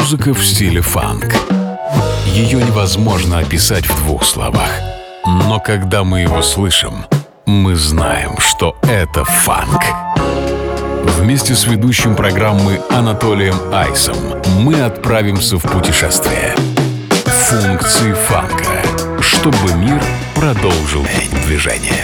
Музыка в стиле фанк. Ее невозможно описать в двух словах. Но когда мы его слышим, мы знаем, что это фанк. Вместе с ведущим программы Анатолием Айсом мы отправимся в путешествие. Функции фанка, чтобы мир продолжил движение.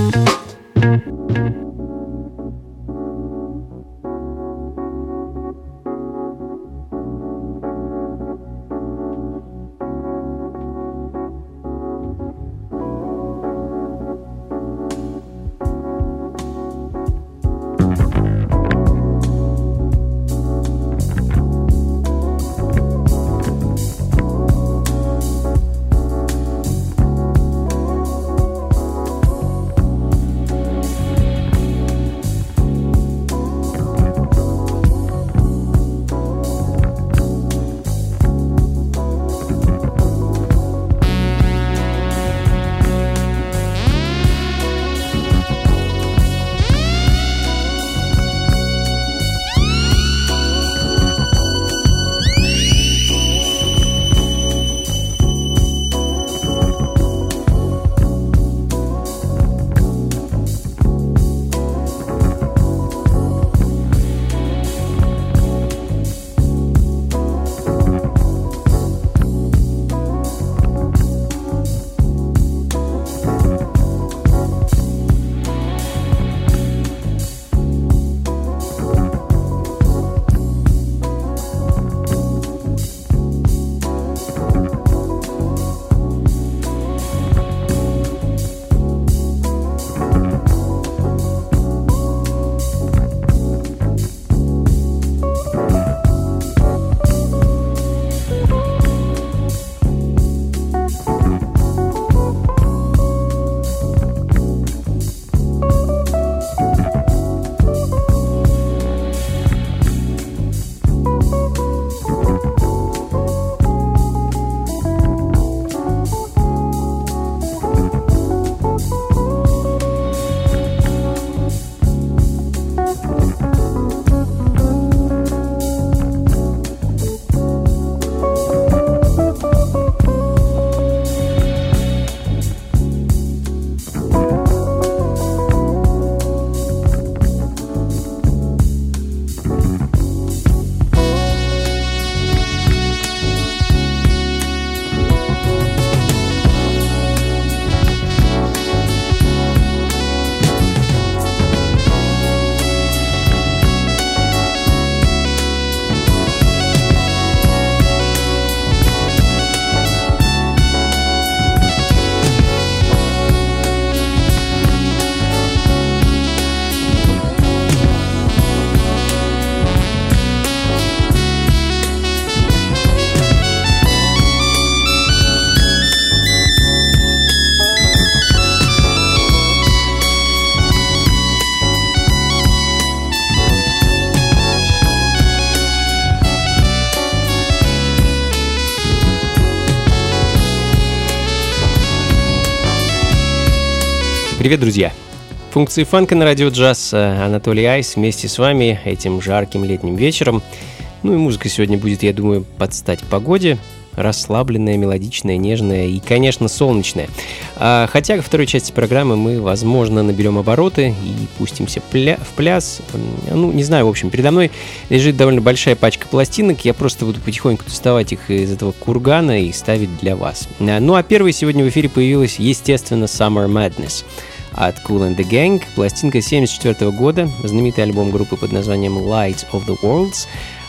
Привет, друзья! Функции фанка на радио джаз. Анатолий Айс вместе с вами этим жарким летним вечером. Ну и музыка сегодня будет, я думаю, под стать погоде. Расслабленная, мелодичная, нежная и, конечно, солнечная. Хотя во второй части программы мы, возможно, наберем обороты и пустимся в пляс. Ну, не знаю, в общем, передо мной лежит довольно большая пачка пластинок. Я просто буду потихоньку доставать их из этого кургана и ставить для вас. Ну, а первой сегодня в эфире появилась, естественно, Summer Madness от Kool and the Gang. Пластинка 1974 года, знаменитый альбом группы под названием Light of the Worlds.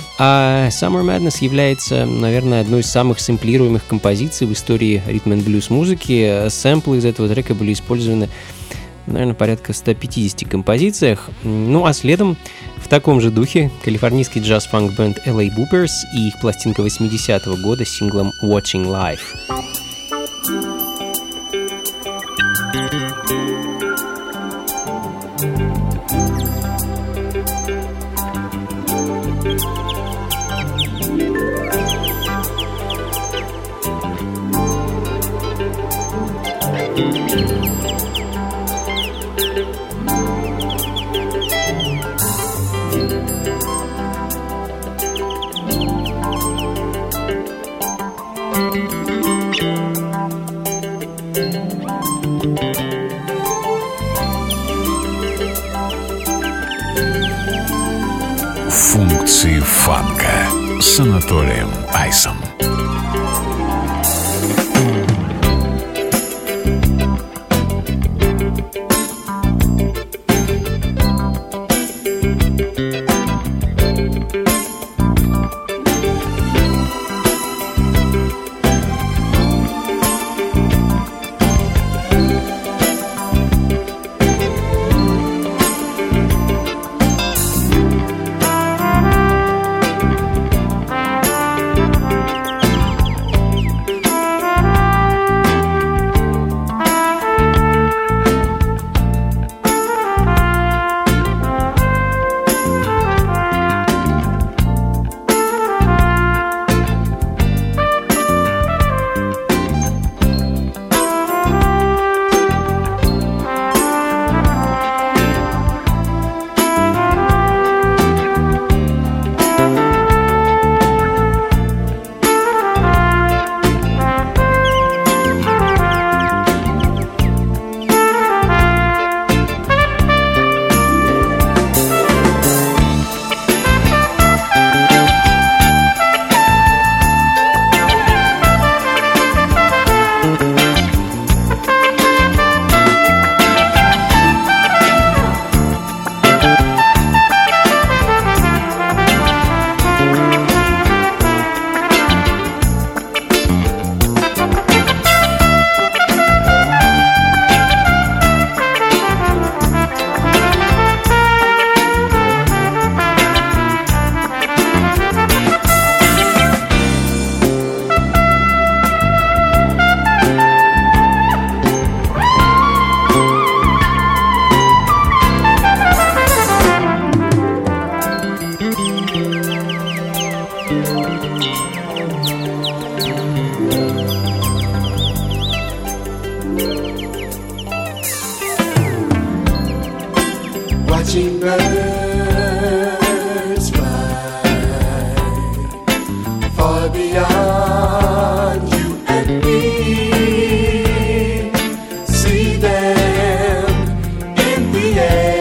А Summer Madness является, наверное, одной из самых сэмплируемых композиций в истории ритм-н-блюз музыки. Сэмплы из этого трека были использованы, наверное, порядка в 150 композициях. Ну а следом в таком же духе калифорнийский джаз-фанк-бенд LA Boopers и их пластинка 80-го года с синглом Watching Life. Функции фанка с Анатолием Айсом. Watching birds fly far beyond you and me. See them in the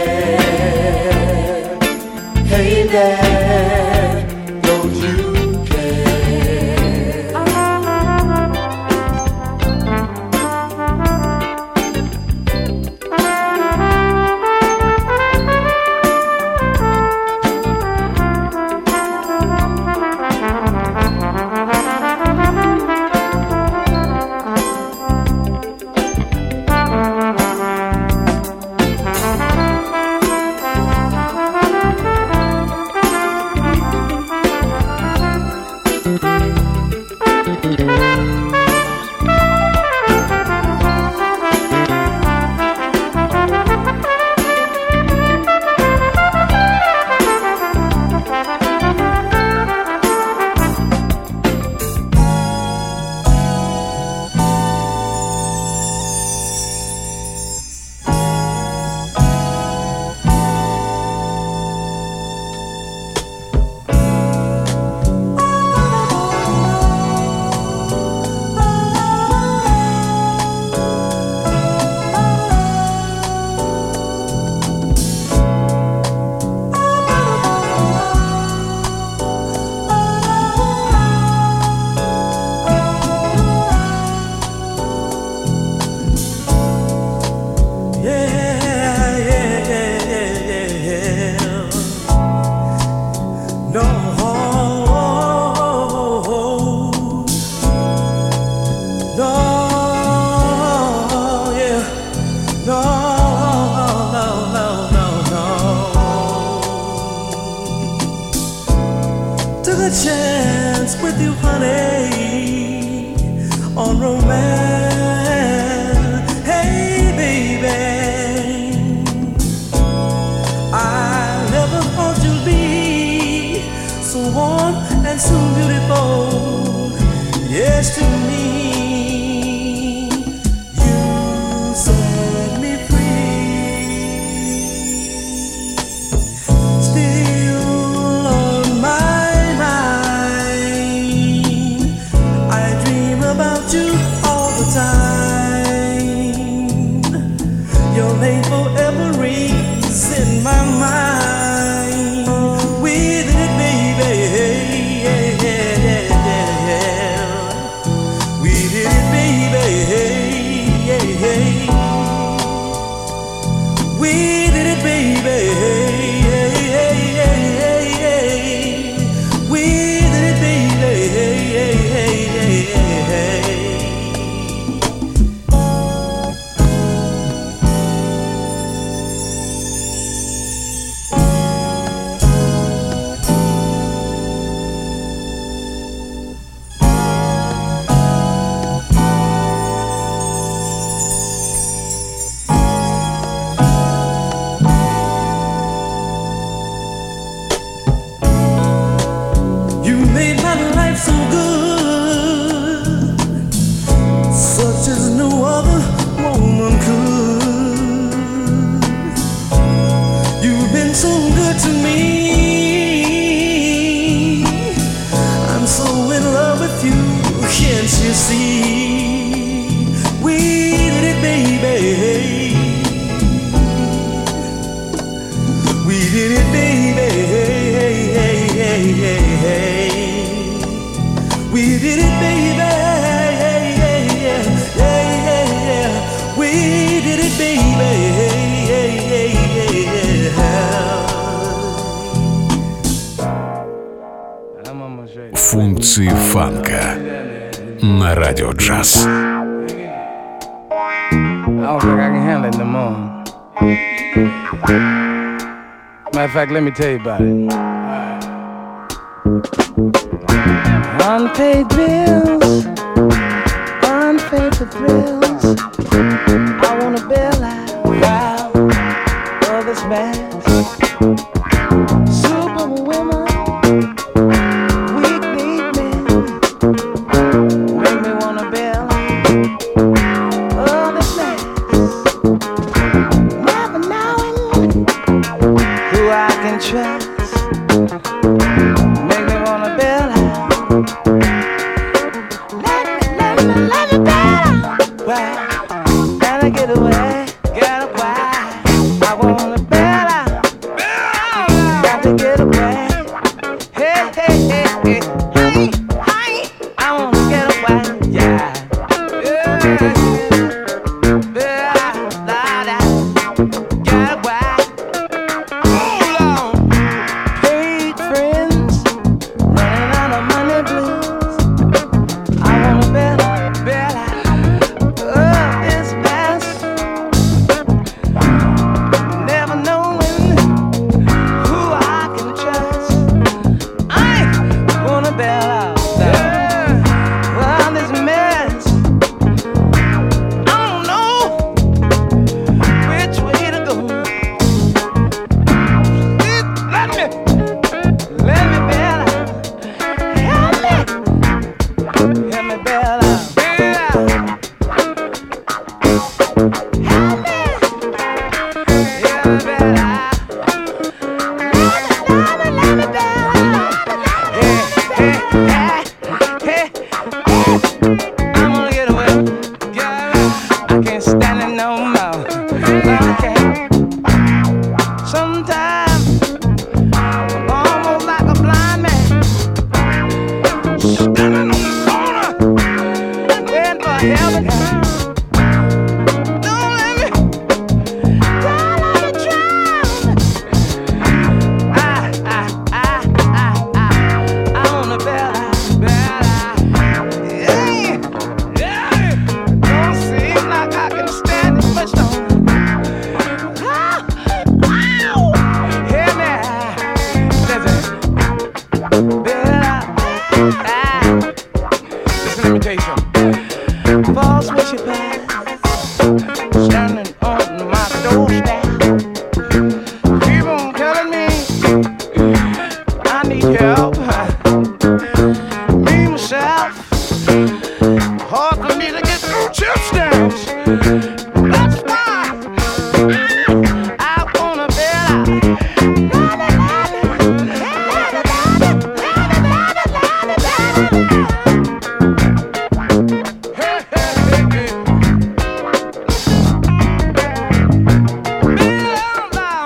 air. Hey there, don't you care? Took a chance with you, honey, on romance. Hey, baby, I never thought you'd be so warm and so beautiful. Yes, to me, you set me free. Still on my mind, I dream about you all the time. Your name forever rings in my mind. With Функции фанка на Радио Джаз. I don't think I can handle it no more. Matter of fact, let me tell you about it. Unpaid bills, unpaid for thrills. I wanna bail out of this mess. Superwomen, weak need men, make me wanna bail out of this mess. Never knowing who I can trust. Make me wanna bail out. Let me bail out. Why? Gotta get away, get away. I wanna bail out. Got to get away. Hey, hey, hey, hey. Hey, hey. I wanna get away. Yeah. Bail out. Get away. Hold on. Paid friends, running out of money blues. I wanna bail out of this mess. Never knowing who I can trust. I wanna bail out of this mess. I don't know which way to go. Let me bail out. Help me bail out. I wanna get away. I can't stand it no more. I can't. Sometimes I'm almost like a blind man, standing on the corner, waiting for help. Don't let me drown. I wanna bail out. Yeah. Don't seem like I can stand it much longer. Hear me. Listen. Bail out. Listen, let me tell you something. False worshippers standing on my doorstep. Keep on telling me I need help. Me, myself, hard for me to get through chip stamps. That's why I wanna bail out. Hey, hey, hey, hey. Bail out.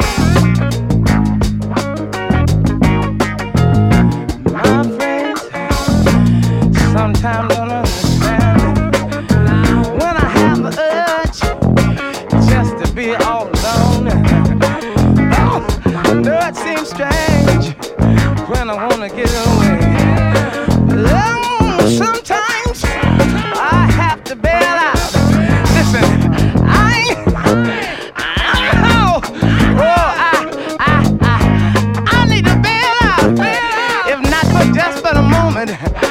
My friends sometimes don't understand when I have the urge just to be all alone. Oh, I know it seems strange when I wanna get away. Oh, sometimes I have to bail out. Listen, I need to bail out, if not for just for the moment.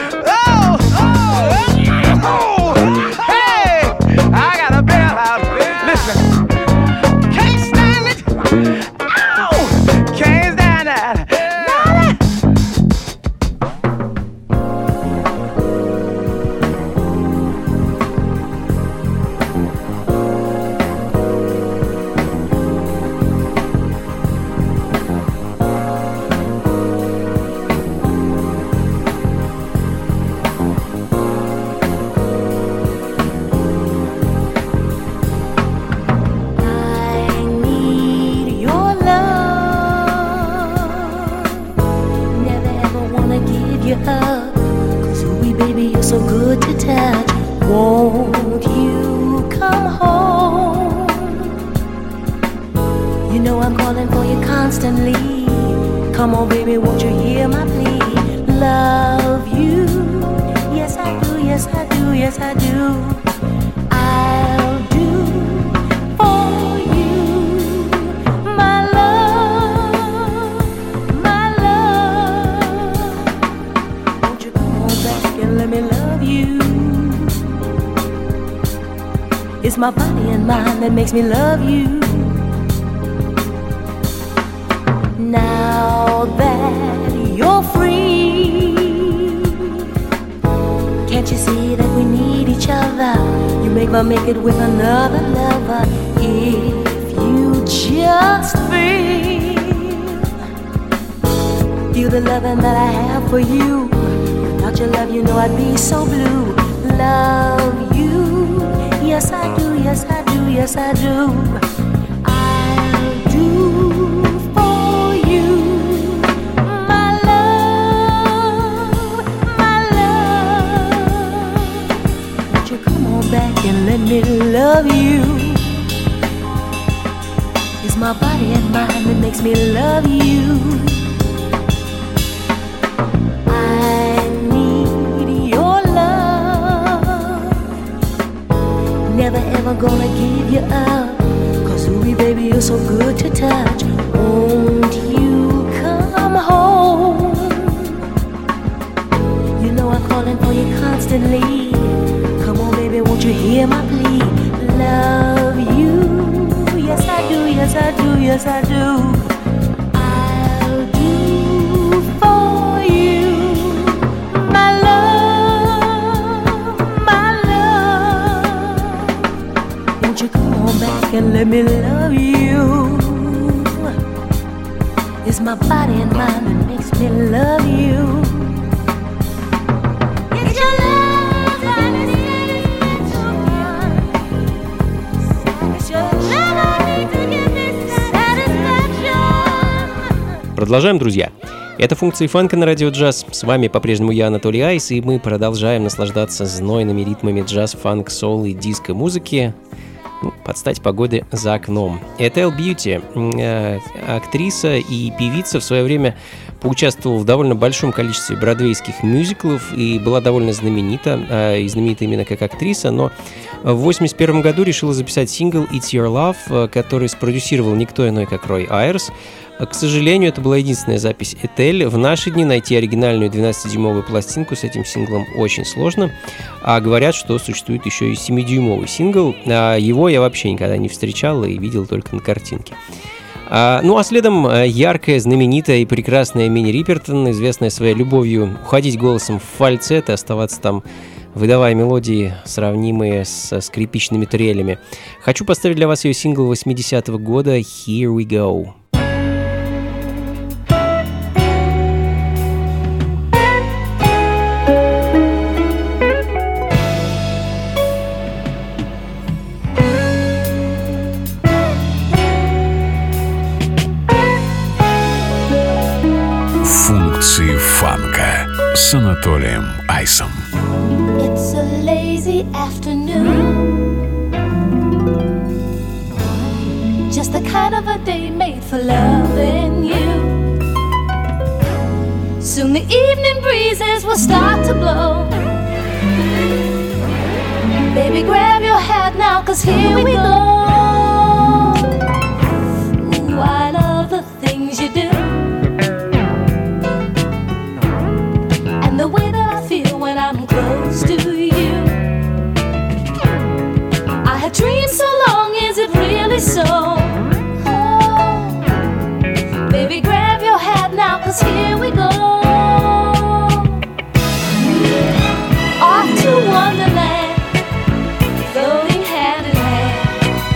Hey, I gotta bail out. Listen, can't stand it. Can't stand that. so good to touch. Won't you come home? You know I'm calling for you constantly. Come on, baby, won't you hear my plea? Love you yes I do. I'll do for you, my love, my love. Won't you come on back and let me love you? It's my body and mind that makes me love you. Now that you're free, can't you see that we need each other? You make it with another lover. If you just feel the loving that I have for you. Without your love, you know I'd be so blue. Love you, yes I do, yes I do, yes I do. I'll do for you, my love, my love. Won't you come on back and let me love you? It's my body and mind that makes me love you. Never ever gonna give you up, 'cause ooh, baby, you're so good to touch. Won't you come home? You know I'm calling for you constantly. Come on, baby, won't you hear my plea? Love you, yes I do, yes I do, yes I do. I'll do for you, my love, my love. Won't you come on back and let me love you? It's my body and mind that makes me love you. It's your love that is satisfaction. It's your love I need to give me satisfaction. Продолжаем, друзья. Это функции фанка на радио джаз. С вами по-прежнему я, Анатолий Айс, и мы продолжаем наслаждаться знойными ритмами джаз, фанк, соул и диско-музыки. Под стать погоды за окном. Этель Бьюти, актриса и певица, в свое время поучаствовала в довольно большом количестве бродвейских мюзиклов и была довольно знаменита, и знаменита именно как актриса, но в 1981 году решила записать сингл «It's Your Love», который спродюсировал никто иной, как Рой Айрс. К сожалению, это была единственная запись Этель. В наши дни найти оригинальную 12-дюймовую пластинку с этим синглом очень сложно. А говорят, что существует еще и 7-дюймовый сингл. Его я вообще никогда не встречал и видел только на картинке. Ну а следом яркая, знаменитая и прекрасная Минни Рипертон, известная своей любовью уходить голосом в фальцет и оставаться там, выдавая мелодии, сравнимые со скрипичными трелями. Хочу поставить для вас ее сингл 80-го года «Here We Go». Функции фанка с Анатолием Айсом. It's a lazy afternoon, just the kind of a day made for loving you. Soon the evening breezes will start to blow. Baby, grab your hat now, 'cause here we go. Ooh, I love the things you do, and the way that I feel when I'm close to you. I have dreamed so long, is it really so? Oh, baby, grab your hat now, 'cause here we go. Off to Wonderland, floating hand in hand.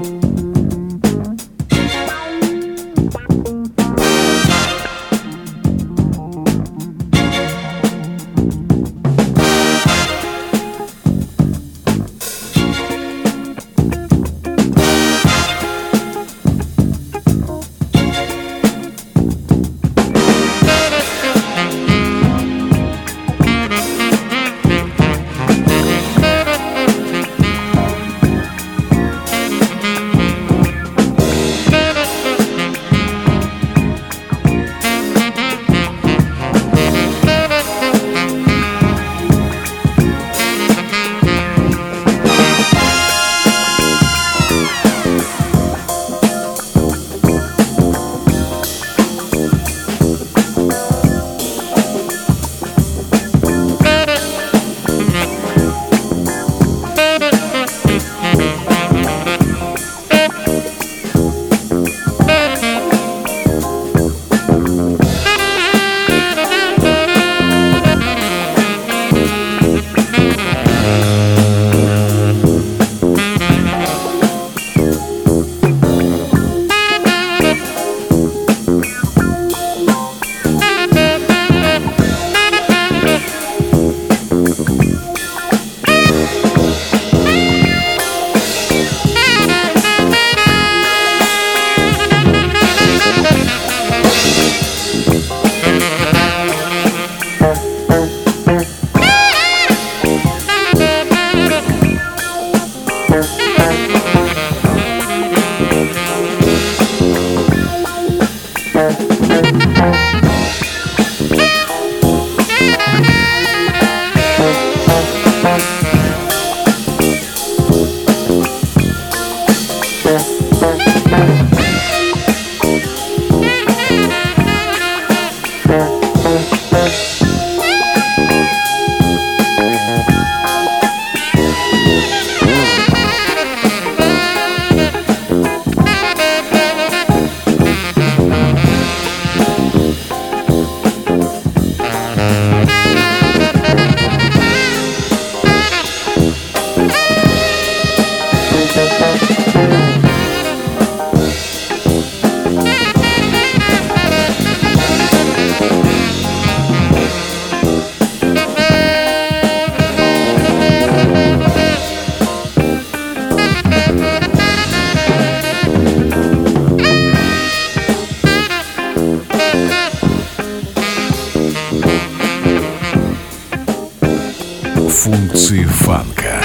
Функции фанка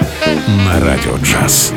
на Радио Джаз.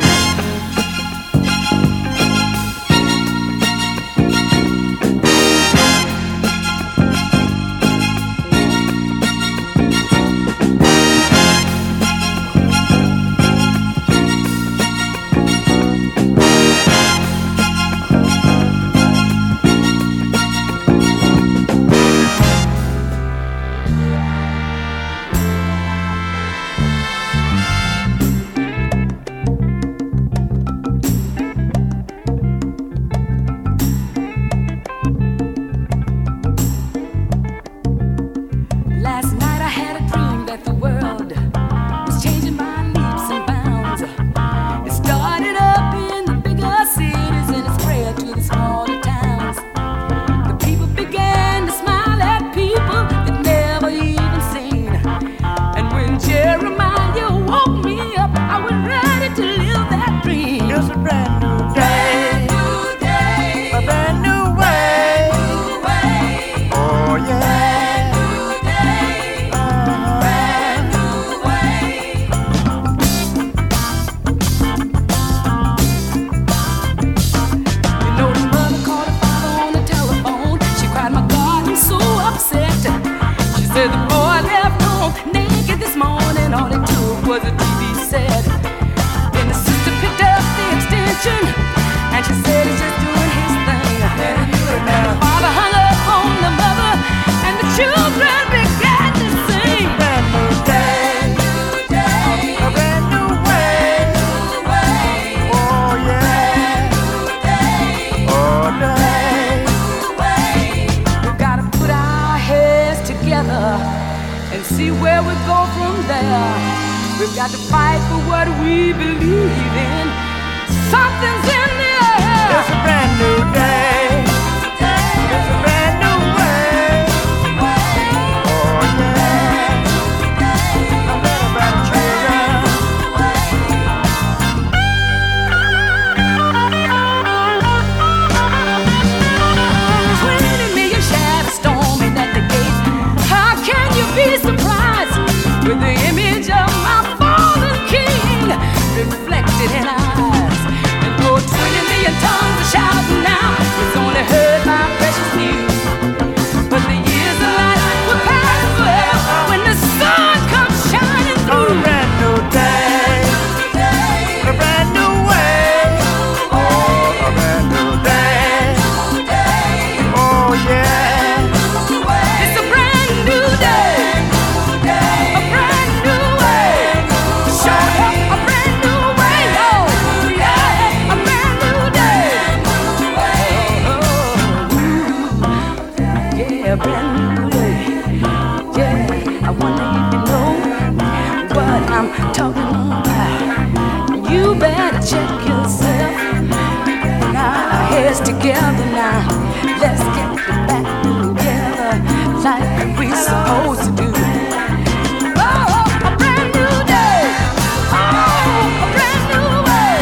We've got to fight for what we believe in. Something together now. Let's get back together like we supposed to do. Oh, a brand new day. Oh, a brand new way.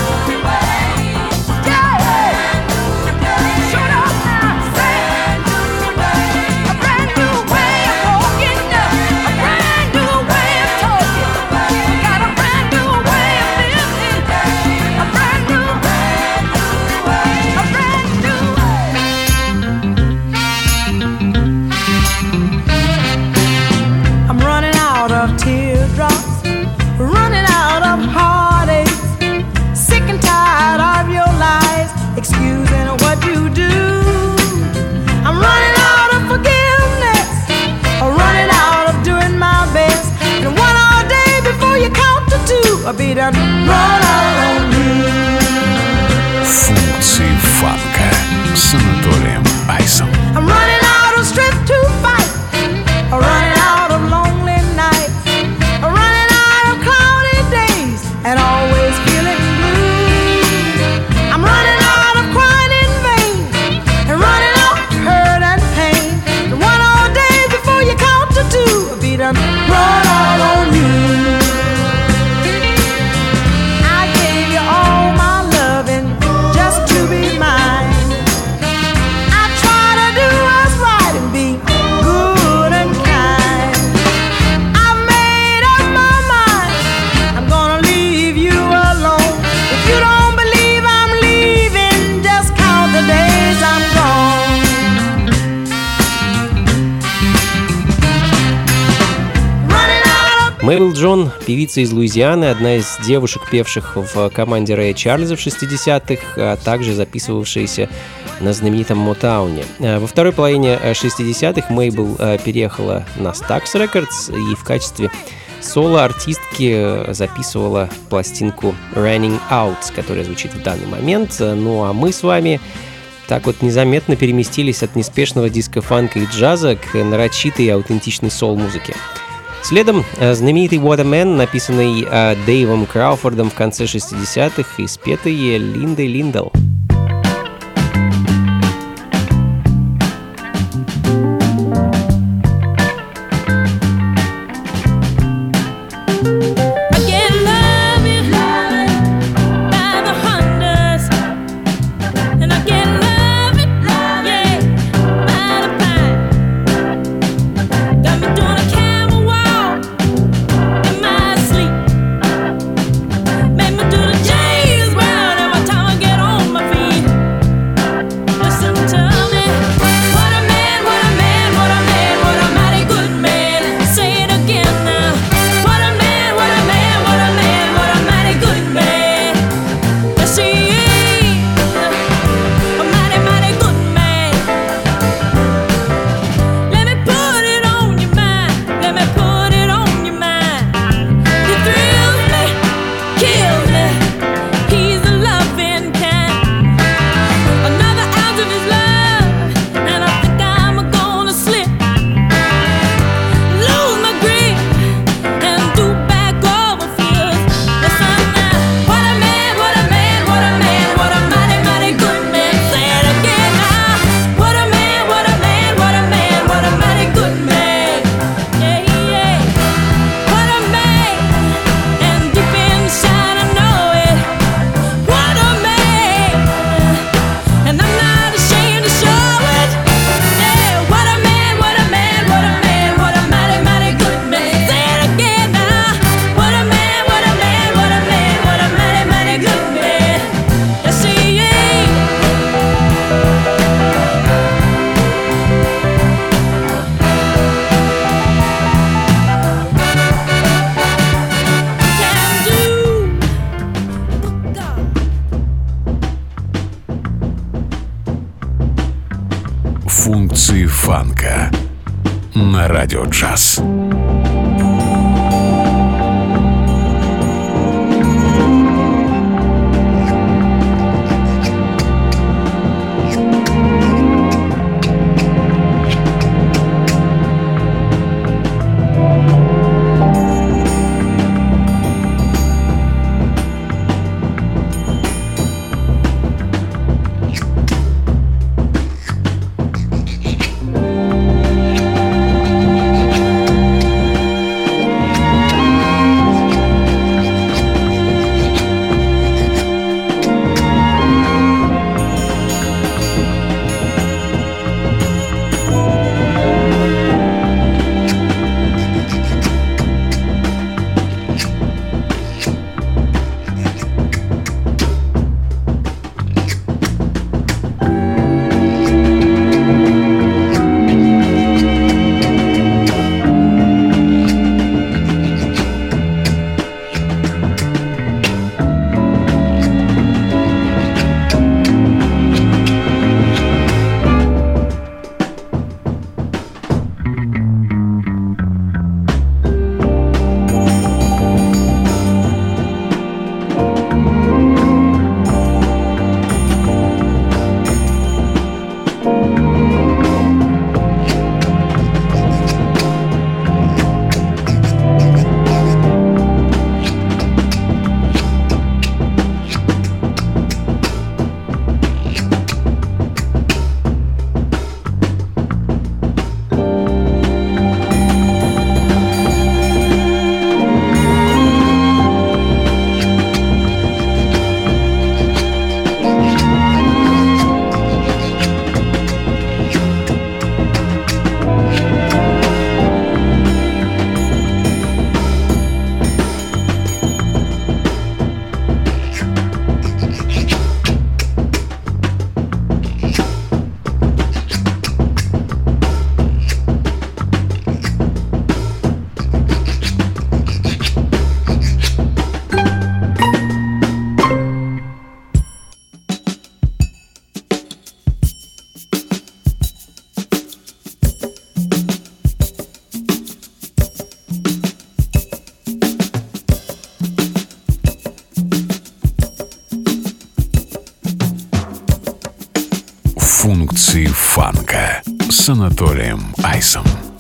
Yeah. Shut up now. Say a brand new way of walking, a brand new way of talking. Got a brand new way of living, a brand new way, a brand new way. I'm running out of teardrops, running out of heartaches, sick and tired of your lies, excusing what you do. I'm running out of forgiveness, running out of doing my best. And one all day before you count to two, I'll be done run out on you. Функции фанка с Анатолием Айсом. I'm running out of strength to fight, running out of lonely nights, running out of cloudy days, and always feeling blue. I'm running out of crying in vain, and running out of hurt and pain. And one all day before you count to two, I'll be done run out on you. I gave you all my loving just to be mine. I try to do what's right and be good and kind. I've made up my mind, I'm gonna leave you alone. If you don't believe I'm leaving, just count the days I'm gone. Running out of Мэрил Джон, певица из Луизианы, одна из девушек, певших в команде Рэя Чарльза в 60-х, а также записывавшаяся на знаменитом Мотауне. Во второй половине 60-х Мейбл переехала на Stax Records и в качестве соло-артистки записывала пластинку Running Out, которая звучит в данный момент. Ну а мы с вами так вот незаметно переместились от неспешного диска-фанка и джаза к нарочитой и аутентичной сол-музыке. Следом знаменитый What a Man, написанный Дэйвом Крауфордом в конце 60-х и спетый Линдой Линдл. I get love in by the hundreds, and I get love it, yeah, by the pine. Got me doing a camel walk in my sleep, make me do the James Brown every time I get on my feet. Listen to me, what a man, what a man, what a man, what a mighty good man. Say it again now. What a man, what a man, what a man, what a mighty good man. Yes, he is a mighty, mighty good man. Let me put it on your mind. Let me put it on your mind. He thrills me, kills me. He's a loving kind. Another ounce of his love, and I think I'm gonna slip, lose my grip, and do back over fears. Listen now, what a man, what a man, what a man, what a mighty, mighty good man. Say it again now. What a man, what a man, what a man, what a mighty good man. Yeah, yeah. What a man, and deep inside I know it. What a man, and I'm not ashamed to show it. Yeah, what a man, what a man, what a man, what a mighty, mighty good man. Say it again now. What a man, what a man, what a man, what a mighty, mighty good man. Yes, he is. Can do. Функции фанка на радио джаз. Функции фанка с Анатолием Айсом.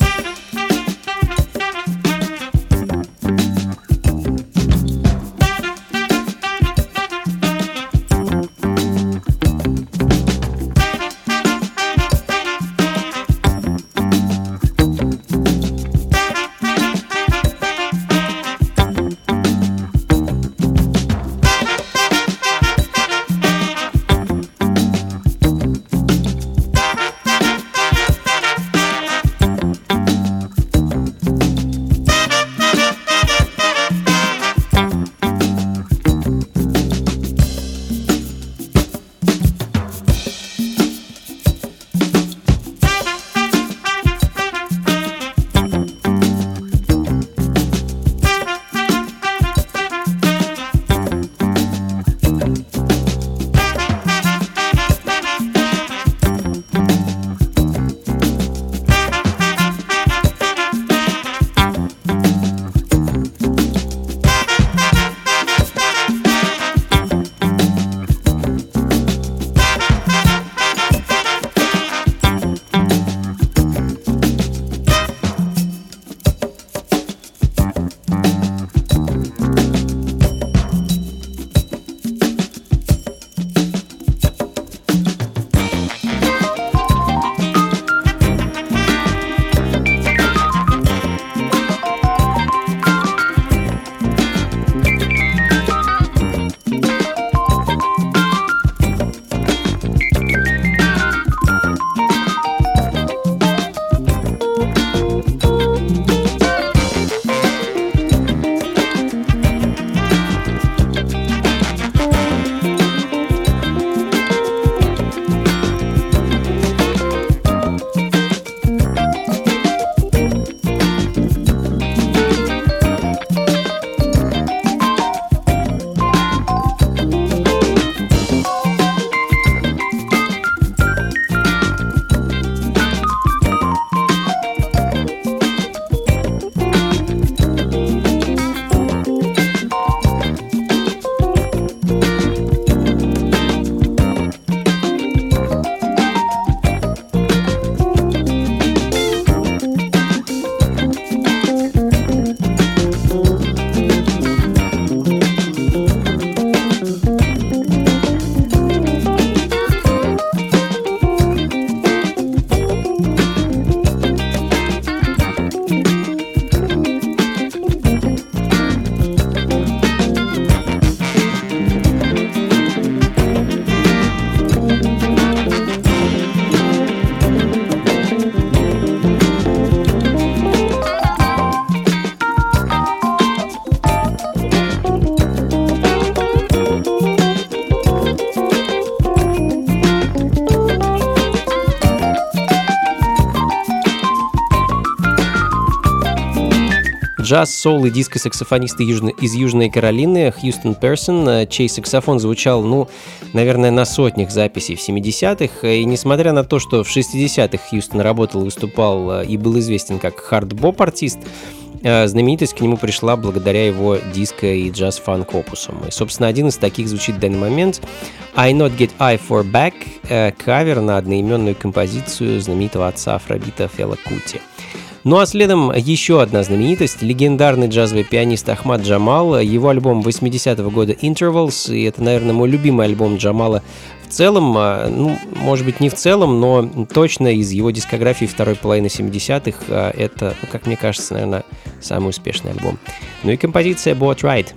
Джаз, соул и диско-саксофонист из Южной Каролины Хьюстон Персон, чей саксофон звучал, наверное, на сотнях записей в 70-х. И несмотря на то, что в 60-х Хьюстон работал, выступал и был известен как хард-боп-артист, знаменитость к нему пришла благодаря его диско- и джаз-фанк опусам. И, собственно, один из таких звучит в данный момент. I Not Get I For Back, кавер на одноименную композицию знаменитого отца афробита Фела Кути. Ну а следом еще одна знаменитость, легендарный джазовый пианист Ахмад Джамал, его альбом 80-го года Intervals, и это, наверное, мой любимый альбом Джамала в целом, может быть, не в целом, но точно из его дискографии второй половины 70-х это, как мне кажется, наверное, самый успешный альбом. Ну и композиция Boat Ride.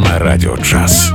на Радио Джаз.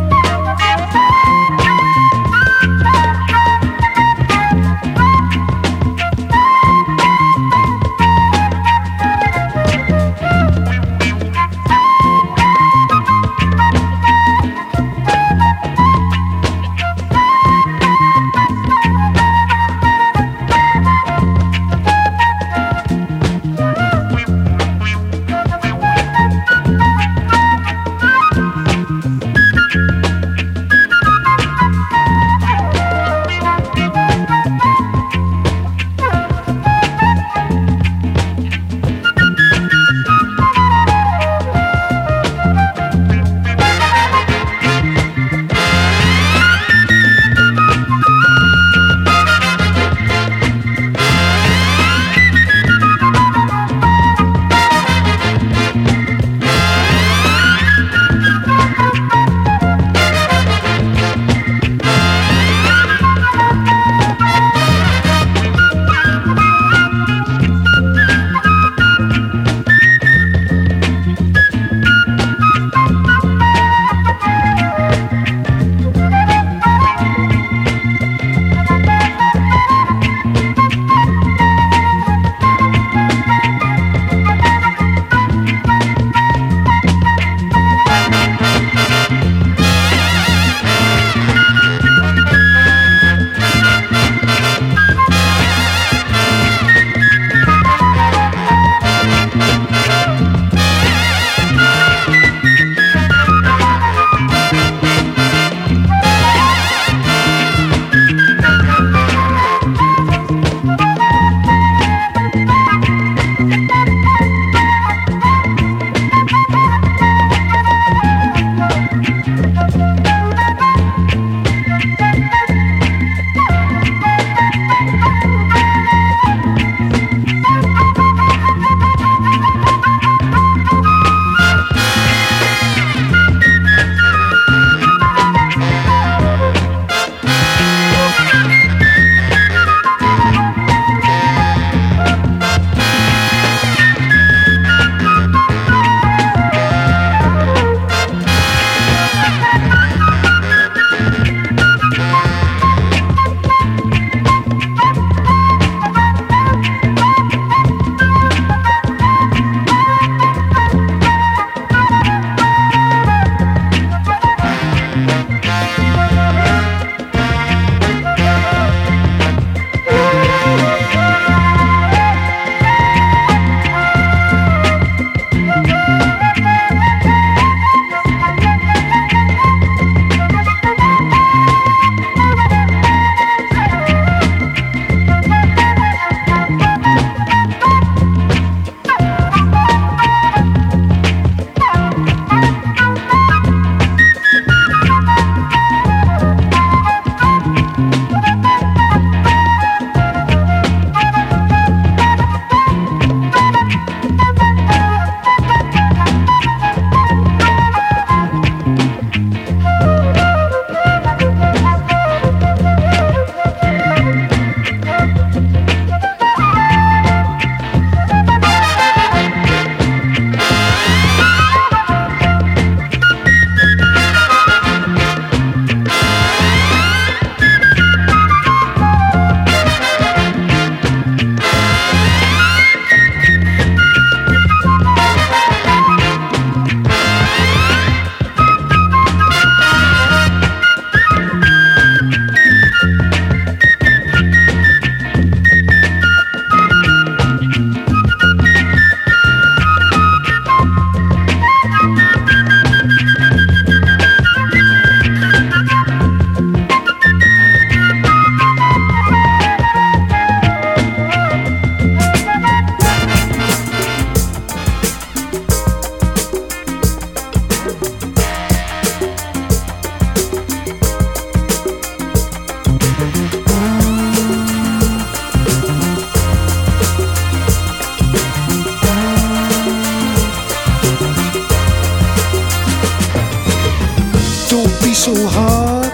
so hard,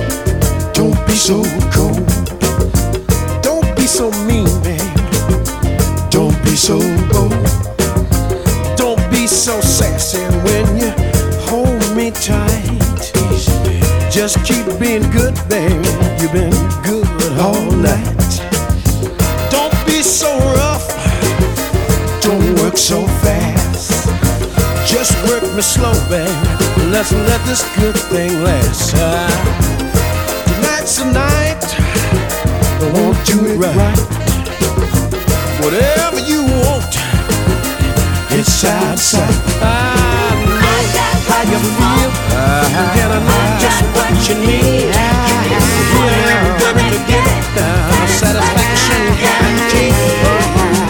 don't be so cold, don't be so mean, babe, don't be so bold, don't be so sassy when you hold me tight. just keep being good, baby. You've been good all night. Don't be so rough. Don't work so fast. Just work me slow, baby. Let's let this good thing last. Tonight's the night. I won't do it right. Whatever you want, it's outside. I know how you feel, and I know just what you need. Yeah, baby, to get it down, satisfaction guaranteed.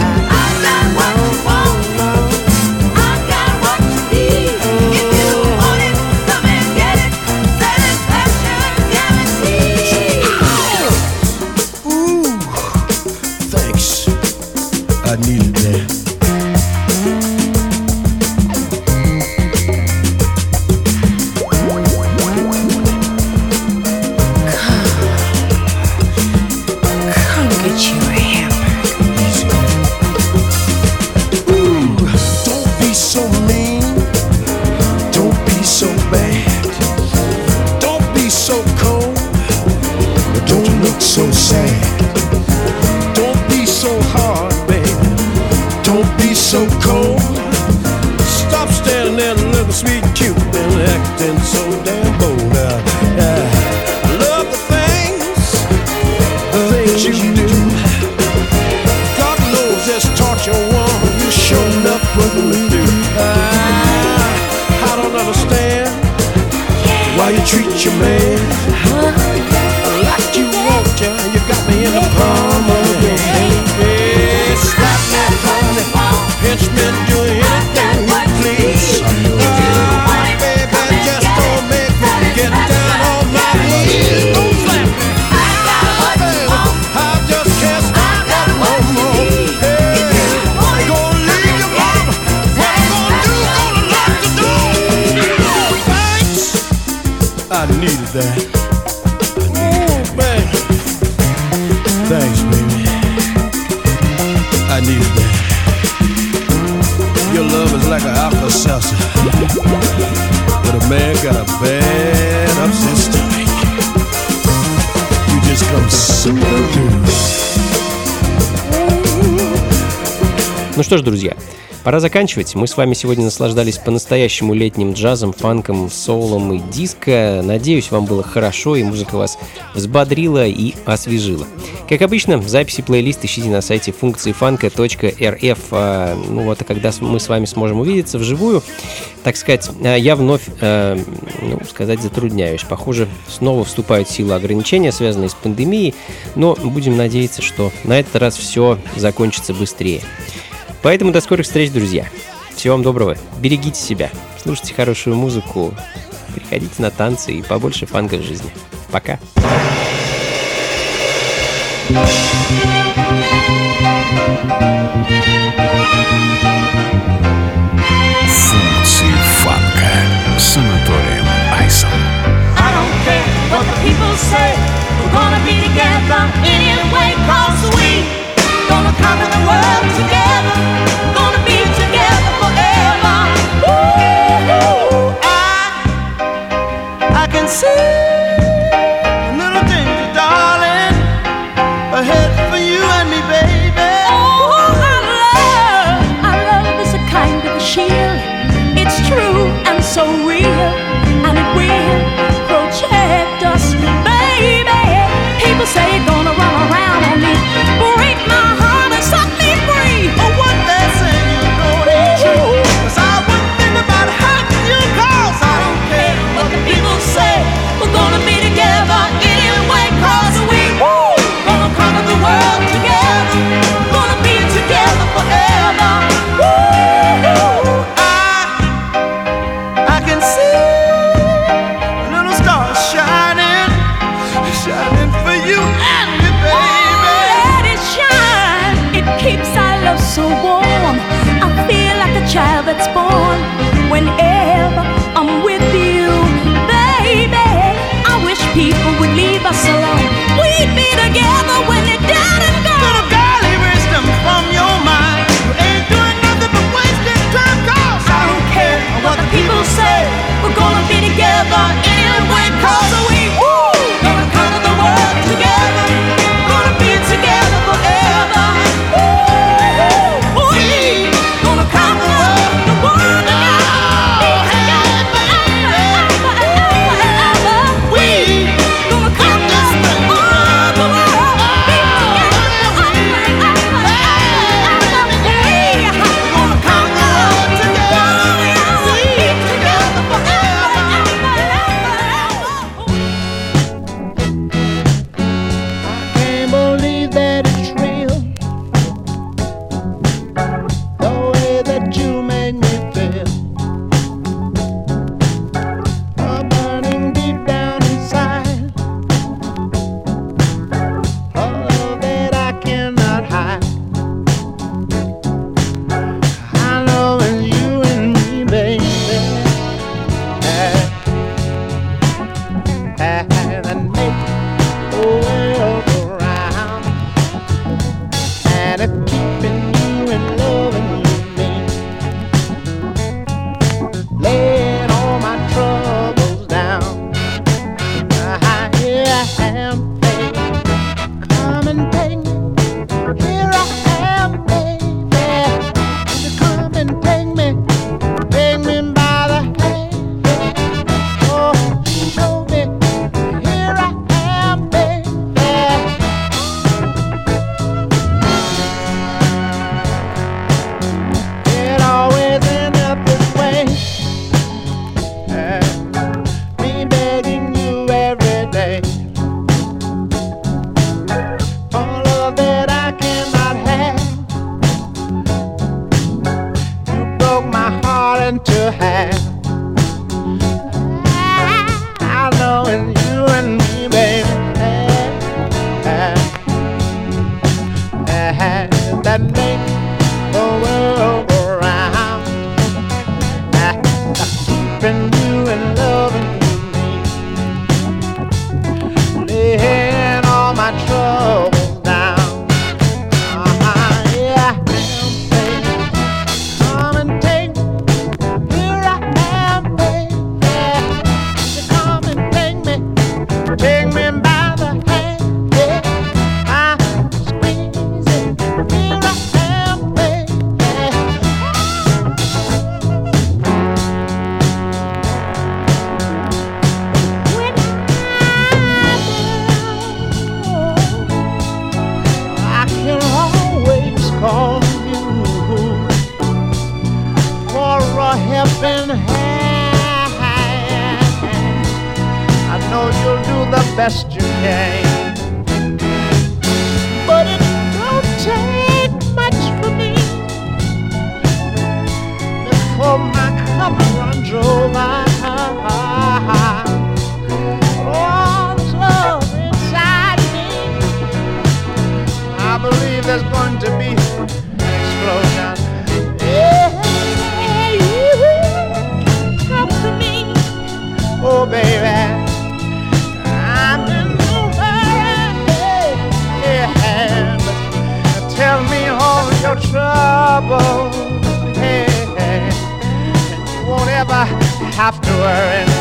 I needed that. Come get you a hamburger. Easy. Ooh, don't be so mean. Don't be so bad. Don't be so cold. But don't look so sad. Don't be so hard. Don't be so cold. Stop standing there and looking sweet and cute and acting so damn bold. I love the things you do. God knows this torture woman you sure enough putting me through. I don't understand why you treat your man like you want to. You got me in the palm of your hand. Slap me, honey, pinch me, do anything you please. Baby, just don't make me get down on my knees. Don't slap me, baby, I just can't stop that no more. Hey, gonna leave your mama, what you gonna do? Gonna lock the door. Thanks, I needed that. Oh, man, thanks, baby. I needed that. Your love is like an Alka-Seltzer, but a man got a bad upset stomach. You just come super through. Ну что ж, друзья, пора заканчивать. Мы с вами сегодня наслаждались по-настоящему летним джазом, фанком, соулом и диско. Надеюсь, вам было хорошо и музыка вас взбодрила и освежила. Как обычно, записи плейлист ищите на сайте функциифанка.рф. Ну вот, а когда мы с вами сможем увидеться вживую, так сказать, я вновь, затрудняюсь. Похоже, снова вступают в силу ограничения, связанные с пандемией, но будем надеяться, что на этот раз все закончится быстрее. Поэтому до скорых встреч, друзья. Всего вам доброго. Берегите себя. Слушайте хорошую музыку. Приходите на танцы и побольше фанка в жизни. Пока. Функции фанка с Анатолием Айсом. I don't care what the people say. We're gonna be together anyway, 'cause we gonna conquer the world together. Gonna be together forever. Ooh, I can see a little danger, darling, ahead for you and me, baby. Oh, our love is a kind of a shield. It's true and so real, and it will protect us, baby. People say you're gonna run around on me, break my heart and set me free. Oh, what they say you know ain't true. 'Cause I wouldn't think about hurting you, 'cause I don't care What the people say, we're the best you can. But it don't take much for me before my cup runs over. All this love inside me, I believe there's going to be an explosion. Yeah, you talk to me, oh baby. I'm in no hurry. Yeah, but tell me all your trouble. Hey, and you won't ever have to worry.